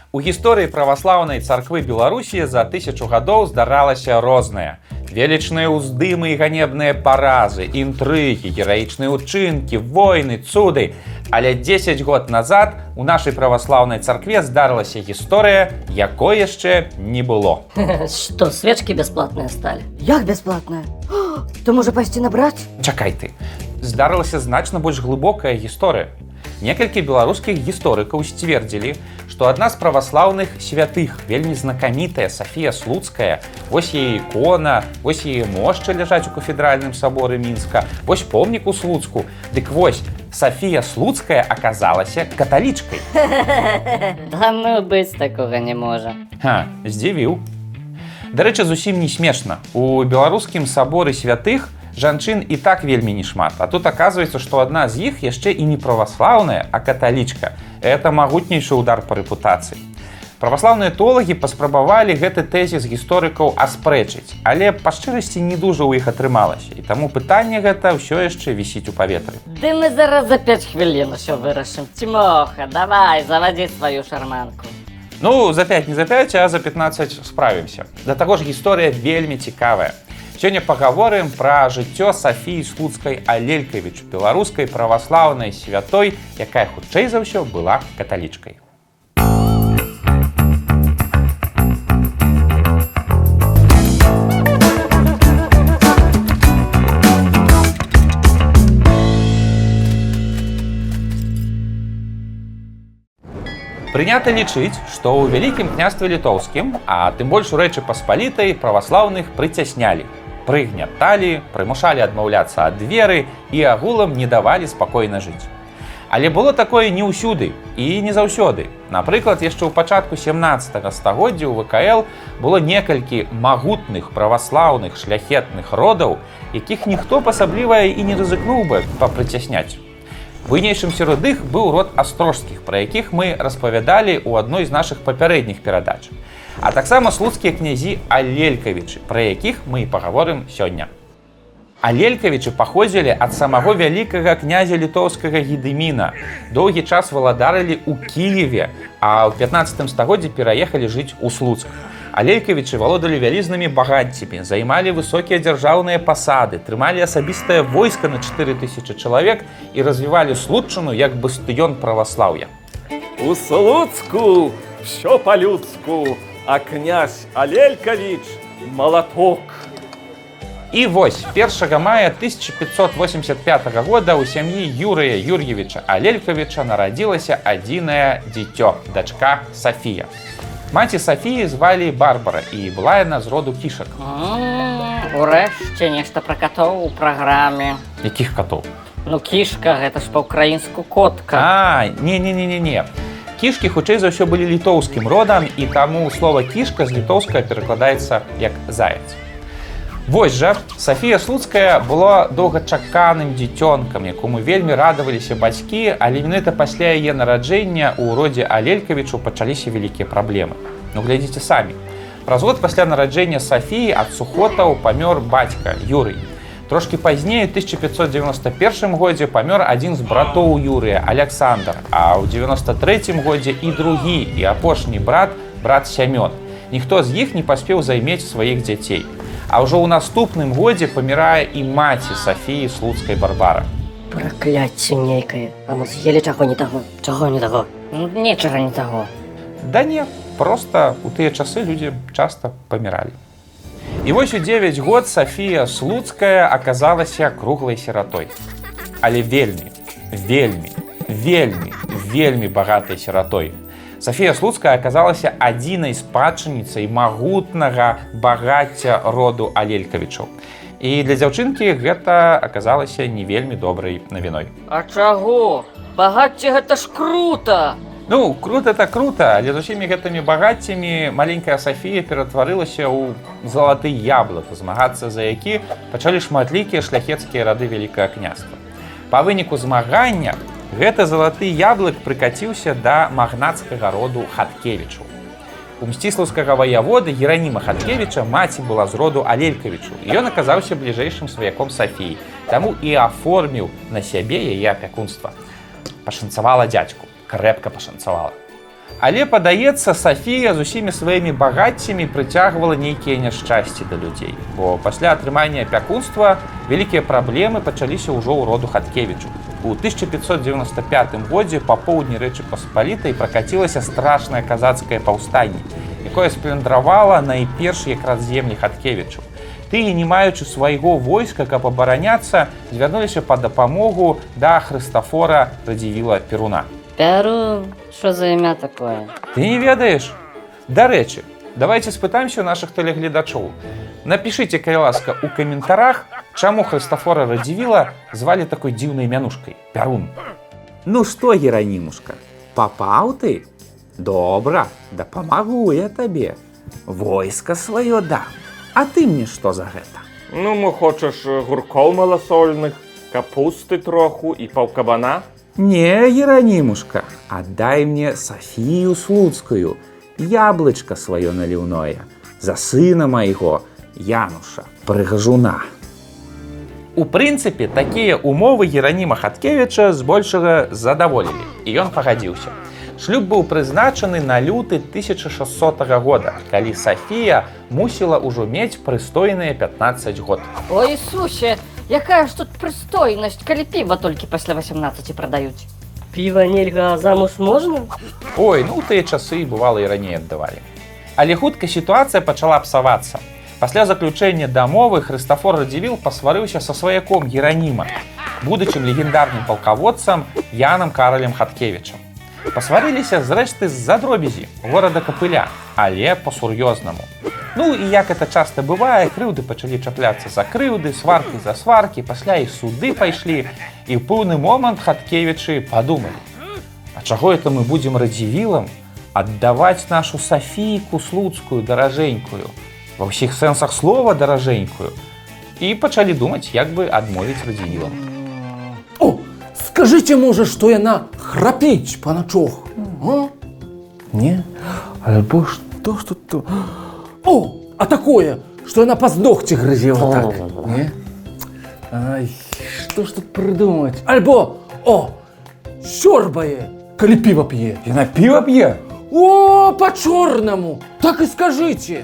У гісторыі праваслаўнай царквы Беларусі за 1000 гадоў здаралася рознае. Велічныя ўздымы і ганебныя паразы, інтрыгі, гераічныя ўчынкі, войны, цуды. Але 10 год назад у нашай праваслаўнай царкве здарылася гісторыя, якой яшчэ не было. Что, свечки бесплатные стали? Як бесплатная? То можа пайсці набраць? Чакай ты. Здарылася значна больш глыбокая гісторыя. Некалькі беларускіх гісторыкаў сцвердзілі, што адна з праваслаўных святых, вельмі знакамітая Сафія Слуцкая, вось яе ікона, вось яе мошча ляжаць у кафедральным саборы Мінска, вось помнік у Слуцку. Дык вось, Сафія Слуцкая аказалася каталічкай. Да ну быць такога не можа. Здзівіў. Дарэчы, зусім не смешна. У беларускім саборы святых жанчын і так вельмі не шмат. А тут аказваецца, што адна з іх яшчэ і не праваслаўная, а каталічка. Это магутнейшы удар па рэпутацыі. Праваслаўныя тэолагі паспрабавалі гэты тэзіс гісторыкаў аспрэчыць, але па шчырасці не дужа ў іх атрымалася. І таму пытанне гэта ўсё яшчэ вісіць у паветры. Ды мы зараз за 5 хвілін усё вырашым. Цімоха, давай, завадзі сваю шарманку. Ну, за 5 не за 5, а за 15 справімся. Да таго ж гісторыя вельмі цікавая. Сёння пагаворым пра жыццё Сафіі Слуцкай Алелькавіч, беларускай праваслаўнай святой, якая хутчэй за ўсё была каталічкай. Прынята лічыць, што ў Вялікім княстве літоўскім, а тым больш у Рэчы Паспалітай праваслаўных прыцяснялі, прыгняталі, прымушалі адмаўляцца ад веры і агулам не давалі спакойна жыць. Але было такое не ўсюды і не заўсёды. Напрыклад, яшчэ ў пачатку 17 стагоддзя ў ВКЛ было некалькі магутных праваслаўных шляхетных родаў, якіх ніхто асабліва і не рызыкнуў бы папрыцясняць. Буйнейшым сярод іх быў род астрожскіх, пра якіх мы распавядалі ў адной з нашых папярэдніх перадач. А таксама слуцкія князі Алелькавічы, пра якіх мы і пагаворым сёння. Алелькавічы паходзілі ад самого вялікага князя літоўскага Гедыміна. Доўгі час валадарылі ў Кіеве, а ў 15 стагоддзі пераехалі жыць у Слуцк. Алелькавічы валодалі вялізнымі багаццямі, займалі высокія дзяржаўныя пасады, трымалі асабістае войска на 4000 чалавек і развівалі Слуцчыну як бастыён праваслаўя. У Слуцку всё по-людску, а князь Алелькавіч – молоток. І вось, 1 мая 1585 года ў сям'і Юрыя Юр'евіча Алелькавіча нарадзілася адзінае дзіцё, дачка Сафія. Маці Сафіі звалі Барбара, і была яна з роду кішак. Урэшце нешта пра катоў у праграме. Якіх катоў? Ну, кішка, гэта ж па-ўкраінску котка. Не. Кішкі хутчэй за ўсё былі літоўскім родам, і таму слова кішка з літоўскага перакладаецца як заяц. Вось жа, Сафія Слуцкая была доўгачаканым дзіцёнкам, якому вельмі радаваліся бацькі, але менавіта пасля яе нараджэння ў родзе Алелькавічу пачаліся вялікія праблемы. Ну, глядзіце самі. Праз год пасля нараджэння Сафіі ад сухотаў памёр бацька Юрый. Трошкі пазней, у 1591 годзе памёр адзін з братоў Юрыя, Аляксандр, а ў 93 годзе і другі, і апошні брат Сямён. Ніхто з іх не паспеў займець сваіх дзяцей. А ўжо ў наступным годзе памірае і маці Сафіі Слуцкай Барбара. Пракляцце нейкае. А мы з'елі чаго не таго? Чаго не таго? Нічага не таго. Да не, проста у тыя часы людзі часта паміралі. І вось у 9 год Сафія Слуцкая аказалася круглай сіратой. Але вельмі багатай сіратой. Сафія Слуцкая аказалася адзінай спадчыніцай магутнага багацця роду Алелькавічаў. І для дзяўчынкі гэта аказалася не вельмі добрай навіной. А чаго? Багацце гэта ж крута! Ну, крута это крута, але з усімі гэтымі багаццямі маленькая Сафія ператварылася ў залаты яблык, змагацца за які пачалі шматлікія шляхецкія рады Вялікага княства. Па выніку змагання гэты залаты яблык прыкаціўся да магнацкага роду Хаткевічаў. У мсціслаўскага ваяводы Гераніма Хаткевіча маці была з роду Алелькавічу, і ён аказаўся бліжэйшым сваяком Сафіі, таму і аформіў на сябе яе апякунства. Пашанцавала дзядзьку, крэпка пашанцавала. Але, падаецца, Сафія з усімі сваімі багаццямі прыцягвала нейкія няшчасці да людзей, бо пасля атрымання апякунства вялікія праблемы пачаліся ўжо ў роду Хаткевічу. У 1595 годзе па поўдні Рэчы Паспалітай пракацілася страшнае казацкае паўстанне, якое сплюндравала найперш якраз землі Хаткевічу. Тыя, не маючы свайго войска, каб абараняцца, звярнуліся па дапамогу да Хрыстафора Радзівіла Перуна. Перун? Що за ім'я такое? Ты не ведаеш? Дарэчы, давайте спытаемся у наших тэлегледачоў. Напишите, калі ласка, у каментарах, чаму Хрыстафора Радзівіла звалі такой дзіўнай мянушкай – Перун. Ну што, Геранімушка, папаў ты? Добра, дапамагу я табе. Войска сваё дам. А ты мне што за гэта? Ну, мо хочаш гуркоў маласольных, капусты троху і паўкабана? Не, Геранімушка, аддай мне Сафію Слуцкую, яблычка сваё наліўное, за сына майго, Януша, прыгажуна. У прынцыпе, такія умовы Гераніма Хаткевіча збольшага задаволілі, і ён пагадзіўся. Шлюб быў прызначаны на люты 1600 года, калі Сафія мусіла ўжо мець прыстойныя 15 год. О, Ісусе, якая ж тут прыстойнасць, калі піва толькі пасля 18 прадаюць. Піва нельга, а замуж можна? Ой, ну тыя часы, бывала, і раней аддавалі. Але хутка сітуацыя пачала псавацца. Пасля заключэння дамовы Хрыстафор Радзівіл пасварыўся са сваяком Гераніма, будучым легендарным палкаводцам Янам Каралем Хаткевічам. Пасварыліся, зрэшты, з-за дробязі горада Капыля, але па-сур'ёзнаму. Ну і як это часта бывае, крыўды пачалі чапляцца за крыўды, сваркі за сваркі, пасля і суды пайшлі, і ў пэўны момант Хаткевічы падумалі: а чаго это мы будзем Радзівілам аддаваць нашу Сафійку Слуцкую даражэнькую, ва ўсіх сэнсах слова даражэнькую, і пачалі думаць, як бы адмовіць Радзівілам. О, скажите, может, что яна храпіць па начох? Не? Альбо что то... О, а такое, что яна па здохце грызела так? Не? Ай, что ж тут придумать? Альбо, о, сёрбае, калі піва п'е. Яна піва п'е? О, по-чорнаму, так и скажите.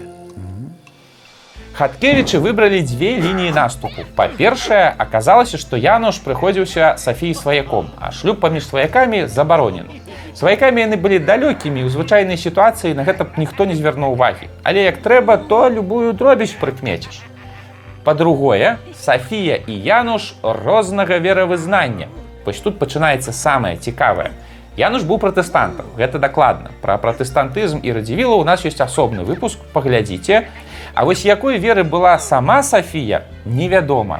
Хаткевічы выбралі дзве лініі наступу. Па-першае, аказалася, што Януш прыходзіўся Сафіі сваяком, а шлюб паміж сваякамі забаронены. Сваякамі яны былі далёкімі, у звычайнай сітуацыі на гэта б ніхто не звярнуў увагі. Але як трэба, то любую дробязь прыкмеціш. Па-другое, Сафія і Януш рознага веравызнання. Вось тут пачынаецца самае цікавае. Януш быў пратэстантам, гэта дакладна. Пра пратэстантызм і Радзівіла у нас ёсць асобны выпуск, паглядзіце. А вось якой веры была сама Сафія, невядома.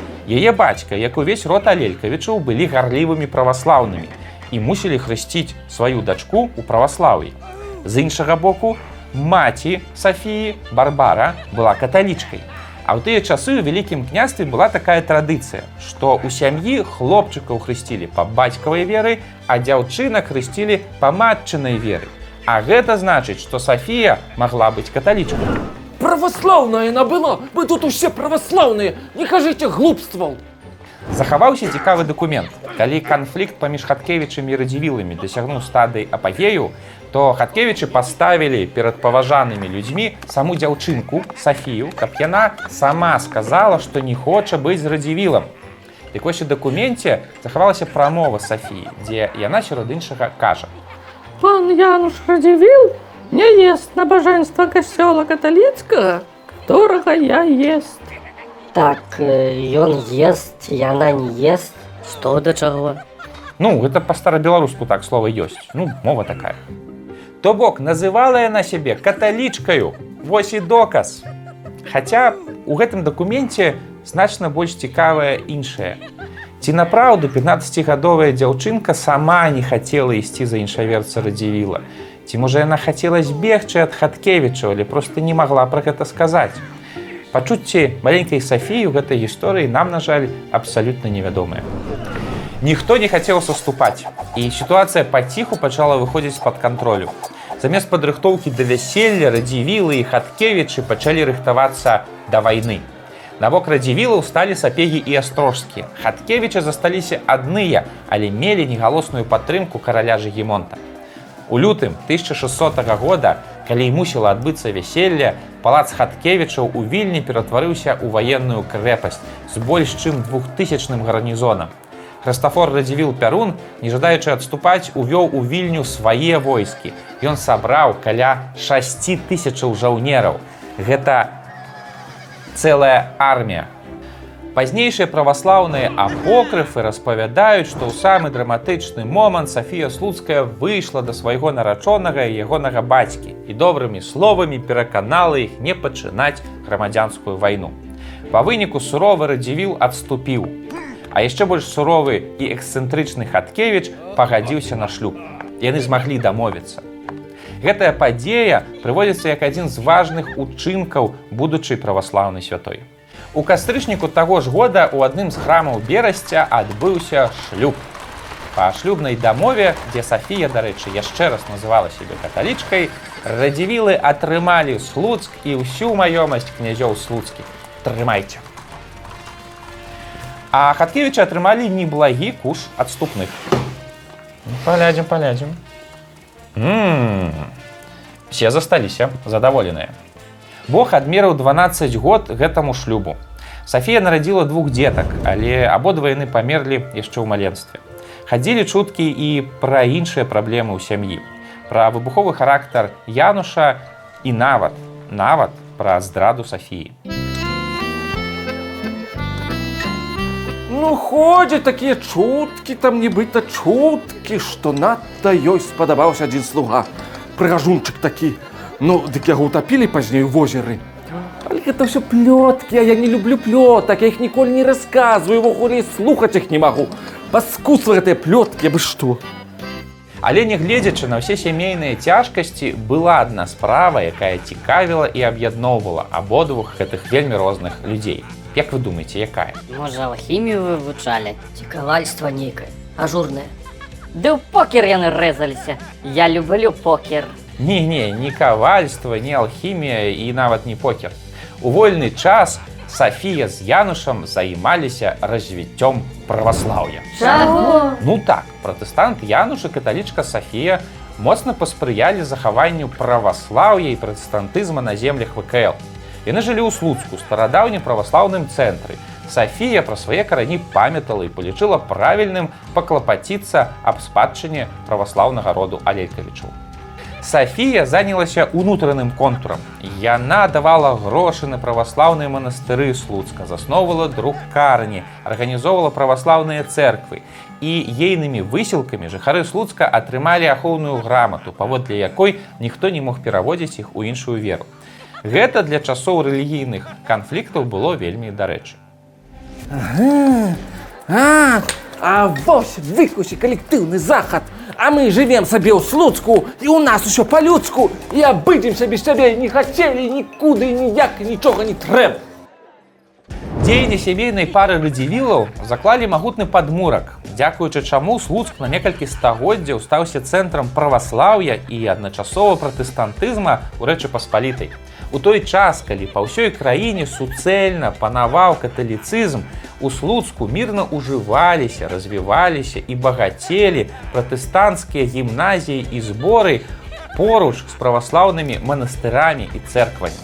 Яе бацька, як увесь род Алелькавічаў, былі гарлівымі праваслаўнымі і мусілі хрысціць сваю дачку ў праваслаўі. З іншага боку, маці Сафіі, Барбара, была каталічкай. А ў тыя часы ў Вялікім княстве была такая традыцыя, што ў сям'і хлопчыкаў хрысцілі па бацькавай веры, а дзяўчынак хрысцілі па матчынай веры. А гэта значыць, што Сафія магла быць каталічкай. Православная она была, мы тут усе православные, не кажите глупстваў. Захаваўся цікавы дакумент. Калі канфлікт паміж Хаткевічамі і Радзівіламі дасягнуў стадыі апагею, то Хаткевічы паставілі перад паважанымі людзьмі саму дзяўчынку, Сафію, каб яна сама сказала, што не хоча быць з Радзівілам. Дык вось у дакуменце захавалася прамова Сафіі, дзе яна сярод іншага кажа: «Пан Януш Радзівіл не ест набажэнства касцёла каталіцкага, которого я ест». Так, ён ест, яна не ест. Што да чаго? Ну, гэта па-старабеларуску так слова ёсць. Ну, мова такая. То бок, называла яна сябе каталічкаю. Вось і доказ. Хаця у гэтым дакуменце значна больш цікавае іншае. Ці напраўду 15-гадовая дзяўчынка сама не хацела ісці за іншаверца Радзівіла? Ці, можа, яна хацела збегчы ад Хаткевічаў, але проста не магла пра гэта сказаць? Пачуцці маленькай Сафіі ў гэтай гісторыі нам, на жаль, абсалютна невядомыя. Ніхто не хацеў саступаць, і сітуацыя паціху пачала выходзіць з-пад кантролю. Замест падрыхтоўкі да вяселля Радзівілы і Хаткевічы пачалі рыхтавацца да вайны. На бок Радзівілаў сталі Сапегі і Астрожскія. Хаткевічы засталіся адныя, але мелі негалосную падтрымку караля Жыгімонта. У лютым 1600 года, калі мусіла адбыцца вяселле, палац Хаткевічаў у Вільні ператварыўся ў ваенную крэпасць з больш чым 2000-ным гарнізонам. Хрыстафор Радзівіл Пярун, не жадаючы адступаць, увёў у Вільню свае войскі. Ён сабраў каля 6000 жаўнераў. Гэта цэлая армія. Пазнейшыя праваслаўныя апокрыфы распавядаюць, што ў самы драматычны момант Сафія Слуцкая выйшла да свайго нарачонага і ягонага бацькі і добрымі словамі пераканала іх не пачынаць грамадзянскую вайну. Па выніку суровы Радзівіл адступіў, а яшчэ больш суровы і эксцэнтрычны Хаткевіч пагадзіўся на шлюб. Яны змаглі дамовіцца. Гэтая падзея прыводзіцца як адзін з важных учынкаў будучай праваслаўнай святой. У кастрычніку таго ж года ў адным з храмаў Берасця адбыўся шлюб. Па шлюбнай дамове, дзе Сафія, дарэчы, яшчэ раз называла сябе каталічкай, Радзівілы атрымалі Слуцк і ўсю маёмасць князёў слуцкіх. Трымайце. А Хаткевічы атрымалі неблагі куш адступных. Палядзім. Все засталіся задаволеныя. Бог адмерыў 12 год гэтаму шлюбу. Сафія нарадзіла 2 дзетак, але абодва яны памерлі яшчэ ў маленстве. Хадзілі чуткі і пра іншыя праблемы ў сям'і, пра выбуховы характар Януша і нават пра здраду Сафіі. Ну, ходзяць такія чуткі, там нібыта чуткі, што надта ёй спадабаўся адзін слуга. Прыгажунчык такі. Ну, дык яго ўтапілі пазней у возеры. Але гэта ўсё плёткі, а я не люблю плётак, я іх ніколі не расказваю, увогуле слухаць іх не магу. Паскусла гэтыя плёткі, абы што. Але нягледзячы на ўсе сямейныя цяжкасці, была адна справа, якая цікавіла і аб'ядноўвала абодвух гэтых вельмі розных людзей. Як вы думаеце, якая? Можа, алхімію вывучалі? Ці кавальства нейкае, ажурнае. Ды ў покер яны рэзаліся. Я люблю покер. Не, не кавальства, не алхімія і нават не покер. У вольны час Сафія з Янушам займаліся развіццём праваслаўя. Чаго? Ну так, пратэстант Януш і каталічка Сафія моцна паспрыялі захаванню праваслаўя і пратэстантызма на землях ВКЛ. Яны жылі ў Слуцку, старадаўнім праваслаўным цэнтры. Сафія пра свае карані памятала і палічыла правільным паклапаціцца аб спадчыне праваслаўнага роду Алелькавічаў. Сафія занялася унутраным контурам. Яна давала грошы на праваслаўныя манастыры Слуцка, засноўвала друкарні, арганізоўвала праваслаўныя цэрквы. І ейнымі высілкамі жыхары Слуцка атрымалі ахоўную грамату, паводле якой ніхто не мог пераводзіць іх у іншую веру. Гэта для часоў рэлігійных канфліктаў было вельмі дарэчы. А вось выкусі калектыўны захад. А мы жывем сабе ў Слуцку, і ў нас усё па-людску, і абыдземся без сябе, не хацелі нікуды, ніяк, нічога не трэба. Дзеянне сямейнай пары Радзівілаў заклалі магутны падмурак, дзякуючы чаму Слуцк на некалькі стагоддзяў стаўся цэнтрам праваслаўя і адначасова пратэстантызма ў Рэчы Паспалітай. У той час, калі па ўсёй краіне суцэльна панаваў каталіцызм, у Слуцку мірна ужываліся, развіваліся і багацелі пратэстанцкія гімназіі і зборы поруч з праваслаўнымі манастырамі і цэрквамі.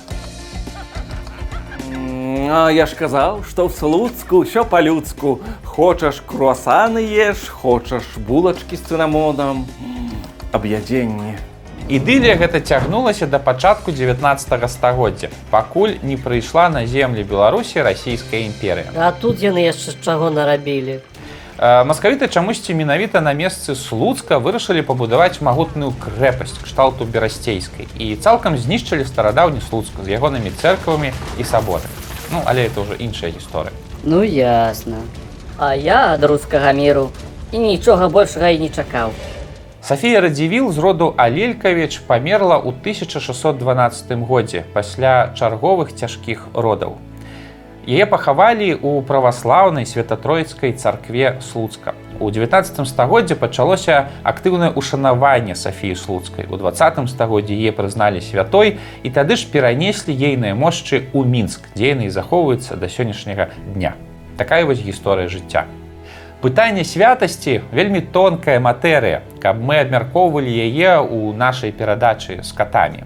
А я ж казаў, што ў Слуцку ўсё па-людску. Хочаш круасаны еш, хочаш булачкі з цынамонам. Аб'ядзенне. Ідылія гэта цягнулася да пачатку 19 стагоддзя, пакуль не прыйшла на землі Беларусі расійская імперыя. А тут яны яшчэ чаго нарабілі? Маскавіты чамусьці менавіта на месцы Слуцка вырашылі пабудаваць магутную крэпасць кшталту берасцейскай і цалкам знішчылі старадаўні Слуцк з ягонымі цэрквамі і саборамі. Ну, але это ўжо іншая гісторыя. Ну, ясна. А я ад рускага міру і нічога большага і не чакаў. Сафія Радзівіл з роду Алелькавіч памерла ў 1612 годзе пасля чарговых цяжкіх родаў. Яе пахавалі ў праваслаўнай святатроіцкай царкве Слуцка. У 19 стагоддзі пачалося актыўнае ушанаванне Сафіі Слуцкай. У 20 стагоддзі яе прызналі святой і тады ж перанеслі ейныя мошчы ў Мінск, дзе яны і захоўваюцца да сённяшняга дня. Такая вось гісторыя жыцця. Пытанне святасці вельмі тонкая матэрыя, каб мы абмяркоўвалі яе ў нашай перадачы з катамі.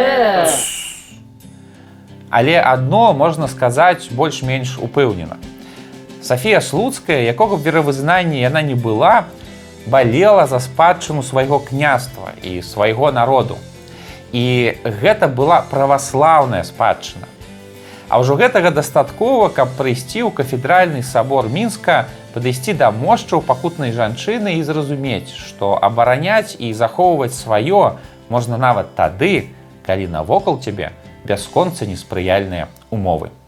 Але адно можна сказаць больш-менш упэўнена. Сафія Слуцкая, якога б веравызнанні яна не была, балела за спадчыну свайго княства і свайго народу. І гэта была праваслаўная спадчына. А ўжо гэтага дастаткова, каб прыйсці ў кафедральны сабор Мінска, падысці да мошчаў пакутнай жанчыны і зразумець, што абараняць і захоўваць сваё можна нават тады, калі навокал цябе бясконца неспрыяльныя умовы.